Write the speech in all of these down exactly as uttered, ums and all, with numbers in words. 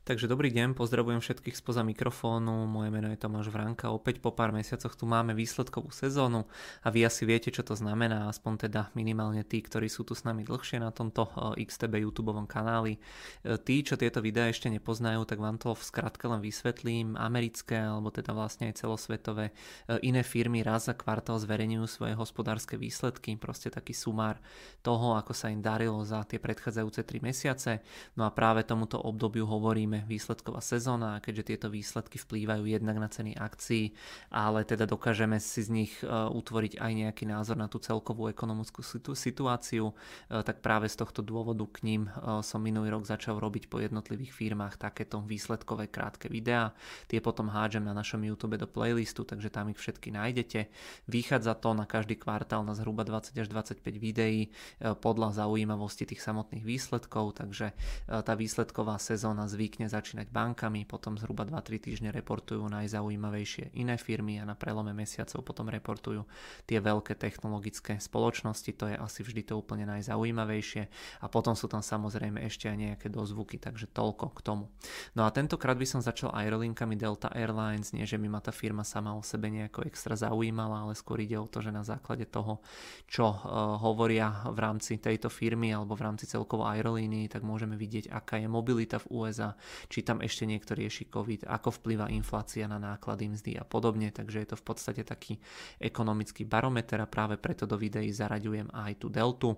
Takže dobrý deň, pozdravujem všetkých spoza mikrofónu, moje meno je Tomáš Vránka, opäť po pár mesiacoch tu máme výsledkovú sezónu a vy asi viete, čo to znamená, aspoň teda minimálne tí, ktorí sú tu s nami dlhšie na tomto iks té bé YouTubeovom kanáli. Tí, čo tieto videá ešte nepoznajú, tak vám to v skratke len vysvetlím. Americké, alebo teda vlastne aj celosvetové iné firmy raz za kvartál zverejňujú svoje hospodárske výsledky, proste taký sumár toho, ako sa im darilo za tie predchádzajúce tri mesiace. No a práve tomuto obdobiu hovoríme výsledková sezóna, keďže tieto výsledky vplývajú jednak na ceny akcií, ale teda dokážeme si z nich utvoriť aj nejaký názor na tú celkovú ekonomickú situáciu, tak práve z tohto dôvodu k ním som minulý rok začal robiť po jednotlivých firmách takéto výsledkové krátke videá. Tie potom hádžem na našom YouTube do playlistu, takže tam ich všetky nájdete. Vychádza to na každý kvartál na zhruba dvadsať až dvadsaťpäť videí podľa zaujímavosti tých samotných výsledkov, takže tá výsledková sezóna zvykne začínať bankami, potom zhruba dva tri týždne reportujú najzaujímavejšie iné firmy a na prelome mesiacov potom reportujú tie veľké technologické spoločnosti, to je asi vždy to úplne najzaujímavejšie a potom sú tam samozrejme ešte aj nejaké dozvuky, takže toľko k tomu. No a tentokrát by som začal aerolinkami Delta Airlines, nie že by ma tá firma sama o sebe nejako extra zaujímala, ale skôr ide o to, že na základe toho, čo uh, hovoria v rámci tejto firmy alebo v rámci celkovo aerolínii, tak môžeme vidieť, aká je mobilita v ú es á, či tam ešte niekto rieši COVID, ako vplyvá inflácia na náklady, mzdy a podobne, takže je to v podstate taký ekonomický barometer a práve preto do videí zaraďujem aj tú deltu.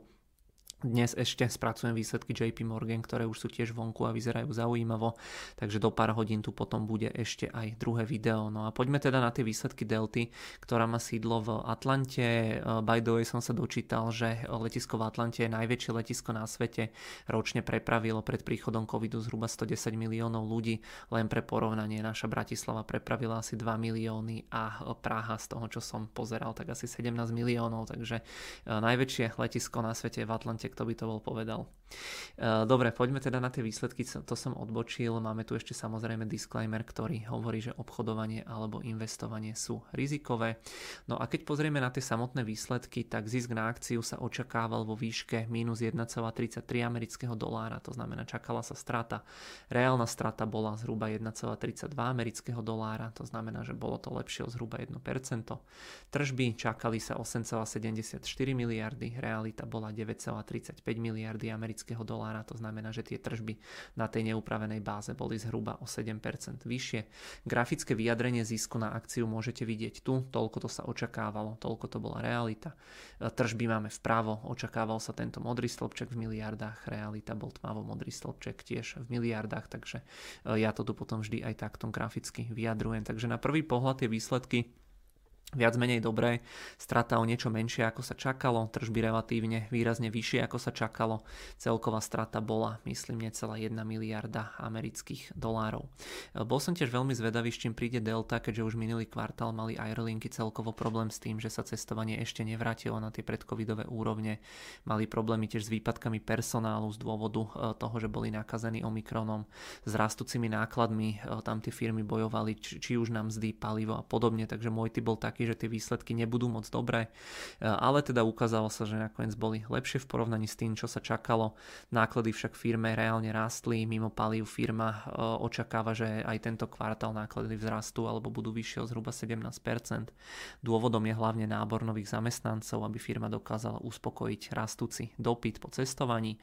Dnes ešte spracujem výsledky jé pé Morgan, ktoré už sú tiež vonku a vyzerajú zaujímavo, takže do pár hodín tu potom bude ešte aj druhé video. No a poďme teda na tie výsledky Delty, ktorá má sídlo v Atlante. By the way som sa dočítal, že letisko v Atlante je najväčšie letisko na svete. Ročne prepravilo pred príchodom covidu zhruba stodesať miliónov ľudí. Len pre porovnanie, naša Bratislava prepravila asi dva milióny a Praha, z toho čo som pozeral, tak asi sedemnásť miliónov, takže najväčšie letisko na svete je v Atlante. Kto by to bol povedal. Dobre, poďme teda na tie výsledky, to som odbočil. Máme tu ešte samozrejme disclaimer, ktorý hovorí, že obchodovanie alebo investovanie sú rizikové. No a keď pozrieme na tie samotné výsledky, tak zisk na akciu sa očakával vo výške mínus jeden celá tridsaťtri amerického dolára, to znamená čakala sa strata. Reálna strata bola zhruba jeden celá tridsaťdva amerického dolára, to znamená, že bolo to lepšie o zhruba jedno percento. Tržby čakali sa osem celá sedemdesiatštyri miliardy, realita bola deväť celá tridsaťpäť miliardy amerického dolára, to znamená, že tie tržby na tej neupravenej báze boli zhruba o sedem percent vyššie. Grafické vyjadrenie zisku na akciu môžete vidieť tu, toľko to sa očakávalo, toľko to bola realita. Tržby máme vpravo, očakával sa tento modrý stĺpček v miliardách, realita bol tmavo modrý stĺpček tiež v miliardách, takže ja to tu potom vždy aj takto graficky vyjadrujem. Takže na prvý pohľad tie výsledky viac menej dobré, strata o niečo menšie ako sa čakalo, tržby relatívne výrazne vyššie ako sa čakalo, celková strata bola myslím necelá jedna miliarda amerických dolárov. Bol som tiež veľmi zvedavý, s čím príde Delta, keďže už minulý kvartál mali aerolinky celkovo problém s tým, že sa cestovanie ešte nevrátilo na tie predcovidové úrovne, mali problémy tiež s výpadkami personálu z dôvodu toho, že boli nakazení Omikronom, s rastúcimi nákladmi, tam tie firmy bojovali, či, či už na mzdy, palivo a podobne, takže môj typ bol taký, že tie výsledky nebudú moc dobré, ale teda ukázalo sa, že nakoniec boli lepšie v porovnaní s tým, čo sa čakalo. Náklady však firme reálne rástli, mimo palív firma očakáva, že aj tento kvartál náklady vzrastú alebo budú vyššie o zhruba sedemnásť percent. Dôvodom je hlavne nábor nových zamestnancov, aby firma dokázala uspokojiť rastúci dopyt po cestovaní.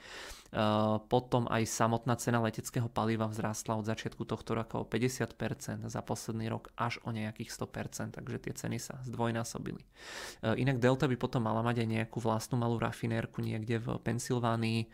Potom aj samotná cena leteckého paliva vzrástla od začiatku tohto roka o päťdesiat percent, za posledný rok až o nejakých sto percent, takže tie ceny sa zdvojnásobili. Inak Delta by potom mala mať aj nejakú vlastnú malú rafinérku niekde v Pensylvánii.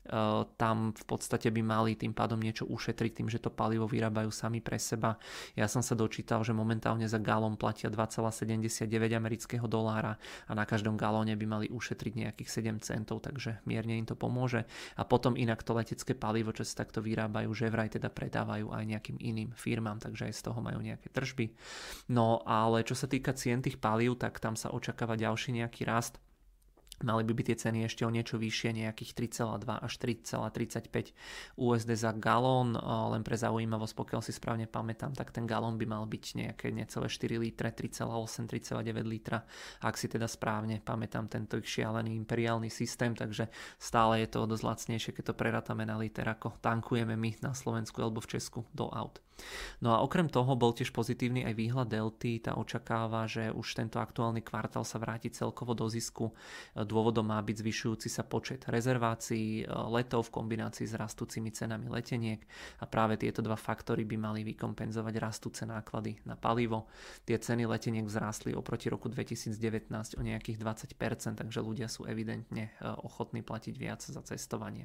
Tam v podstate by mali tým pádom niečo ušetriť tým, že to palivo vyrábajú sami pre seba. Ja som sa dočítal, že momentálne za galón platia dva celá sedemdesiatdeväť amerického dolára a na každom galóne by mali ušetriť nejakých sedem centov, takže mierne im to pomôže. A potom inak to letecké palivo, čo sa takto vyrábajú, že vraj teda predávajú aj nejakým iným firmám, takže aj z toho majú nejaké tržby. No ale čo sa týka cien tých palív, tak tam sa očakáva ďalší nejaký rast. Mali by byť tie ceny ešte o niečo vyššie, nejakých tri celé dva až tri celé tridsaťpäť ú es dé za galón. Len pre zaujímavosť, pokiaľ si správne pamätám, tak ten galón by mal byť nejaké necelé štyri litre, tri celé osem, tri celé deväť litra. Ak si teda správne pamätám tento ich šialený imperiálny systém, takže stále je to dosť lacnejšie, keď to prerátame na liter, ako tankujeme my na Slovensku alebo v Česku do aut. No a okrem toho bol tiež pozitívny aj výhľad Delty, tá očakáva, že už tento aktuálny kvartál sa vráti celkovo do zisku. Dôvodom má byť zvyšujúci sa počet rezervácií letov v kombinácii s rastúcimi cenami leteniek a práve tieto dva faktory by mali vykompenzovať rastúce náklady na palivo. Tie ceny leteniek vzrástli oproti roku dvetisícdevätnásť o nejakých dvadsať percent, takže ľudia sú evidentne ochotní platiť viac za cestovanie.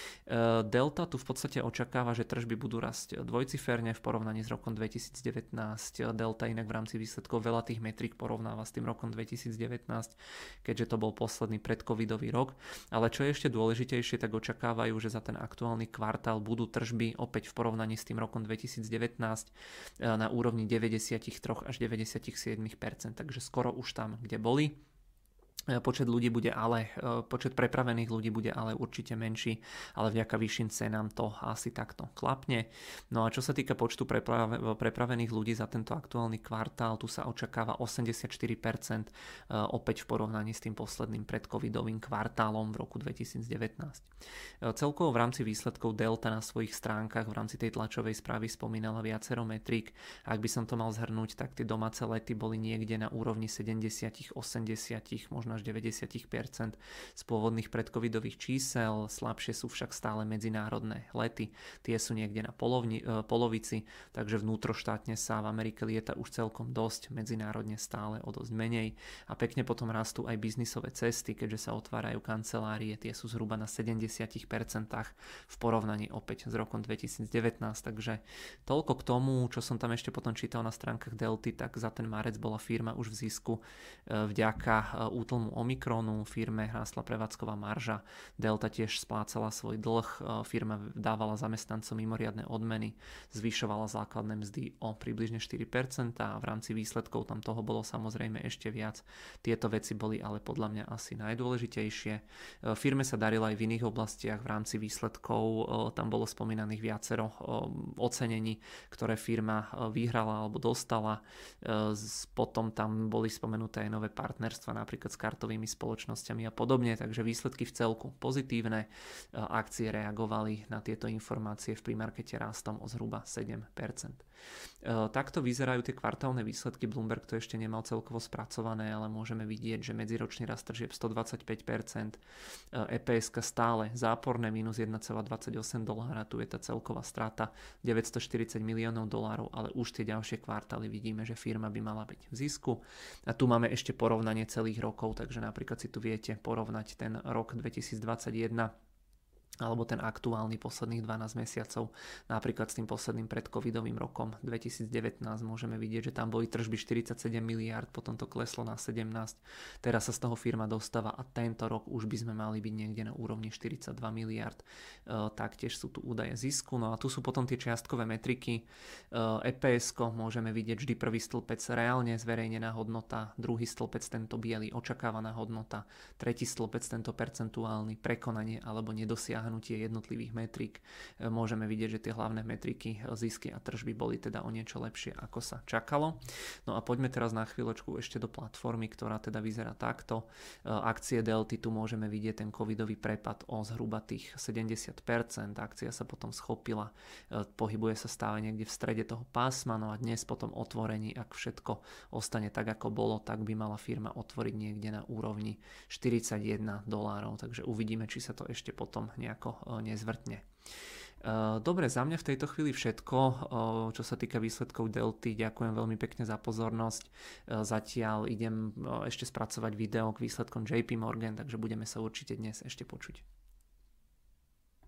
Delta tu v podstate očakáva, že tržby budú rásť dvojciferne v porovnaní s rokom dvetisícdevätnásť. Delta inak v rámci výsledkov veľa tých metrík porovnáva s tým rokom dvetisícdevätnásť, keďže to bol posledný predcovidový rok. Ale čo je ešte dôležitejšie, tak očakávajú, že za ten aktuálny kvartál budú tržby opäť v porovnaní s tým rokom dvetisícdevätnásť na úrovni deväťdesiattri až deväťdesiatsedem percent, takže skoro už tam, kde boli. Počet ľudí bude ale, počet prepravených ľudí bude ale určite menší, ale vďaka vyšším cenám to asi takto klapne. No a čo sa týka počtu preprave, prepravených ľudí za tento aktuálny kvartál, tu sa očakáva osemdesiatštyri percent opäť v porovnaní s tým posledným predcovidovým kvartálom v roku dvetisícdevätnásť. Celkovo v rámci výsledkov Delta na svojich stránkach v rámci tej tlačovej správy spomínala viacero metrík. Ak by som to mal zhrnúť, tak tie domáce lety boli niekde na úrovni sedemdesiat, osemdesiat, možno až deväťdesiat percent z pôvodných predcovidových čísel. Slabšie sú však stále medzinárodné lety. Tie sú niekde na polovni, polovici, takže vnútroštátne sa v Amerike lieta už celkom dosť, medzinárodne stále o dosť menej. A pekne potom rastú aj biznisové cesty, keďže sa otvárajú kancelárie, tie sú zhruba na sedemdesiat percent v porovnaní opäť s rokom dvetisícdevätnásť. Takže toľko k tomu, čo som tam ešte potom čítal na stránkach Delty, tak za ten marec bola firma už v zisku vďaka útlmu Omikronu, firme rástla prevádzková marža, Delta tiež splácala svoj dlh, firma dávala zamestnancom mimoriadne odmeny, zvyšovala základné mzdy o približne štyri percentá a v rámci výsledkov tam toho bolo samozrejme ešte viac. Tieto veci boli ale podľa mňa asi najdôležitejšie. Firme sa darilo aj v iných oblastiach, v rámci výsledkov tam bolo spomínaných viacero ocenení, ktoré firma vyhrala alebo dostala. Potom tam boli spomenuté aj nové partnerstva, napríklad s kartovými spoločnosťami a podobne, takže výsledky v celku pozitívne. Akcie reagovali na tieto informácie v premarkete rastom o zhruba sedem percent. Takto vyzerajú tie kvartálne výsledky. Bloomberg to ešte nemal celkovo spracované, ale môžeme vidieť, že medziročný rast tržieb stodvadsaťpäť percent, é pé es stále záporné minus jeden celá dvadsaťosem dolára, tu je tá celková strata deväťstoštyridsať miliónov dolárov, ale už tie ďalšie kvartály vidíme, že firma by mala byť v zisku. A tu máme ešte porovnanie celých rokov, takže napríklad si tu viete porovnať ten rok dvetisícdvadsaťjeden alebo ten aktuálny posledných dvanásť mesiacov, napríklad s tým posledným predcovidovým rokom dvetisícdevätnásť môžeme vidieť, že tam boli tržby štyridsaťsedem miliárd, potom to kleslo na sedemnásť, teraz sa z toho firma dostáva a tento rok už by sme mali byť niekde na úrovni štyridsaťdva miliárd, e, taktiež sú tu údaje zisku, no a tu sú potom tie čiastkové metriky, é pé es môžeme vidieť vždy prvý stĺpec reálne zverejnená hodnota, druhý stĺpec tento biely očakávaná hodnota, tretí stĺpec tento percentuálny prekonanie alebo nedosiahnutie jednotlivých metrík. Môžeme vidieť, že tie hlavné metriky, zisky a tržby boli teda o niečo lepšie, ako sa čakalo. No a poďme teraz na chvíľočku ešte do platformy, ktorá teda vyzerá takto. Akcie Delty, tu môžeme vidieť ten covidový prepad o zhruba tých sedemdesiat percent. Akcia sa potom schopila, pohybuje sa stále niekde v strede toho pásma, no a dnes potom otvorení, ak všetko ostane tak, ako bolo, tak by mala firma otvoriť niekde na úrovni štyridsaťjeden dolárov, takže uvidíme, či sa to ešte potom nejak ako nezvrtne. Dobre, za mňa v tejto chvíli všetko, čo sa týka výsledkov Delty. Ďakujem veľmi pekne za pozornosť. Zatiaľ idem ešte spracovať video k výsledkom J P Morgan, takže budeme sa určite dnes ešte počuť.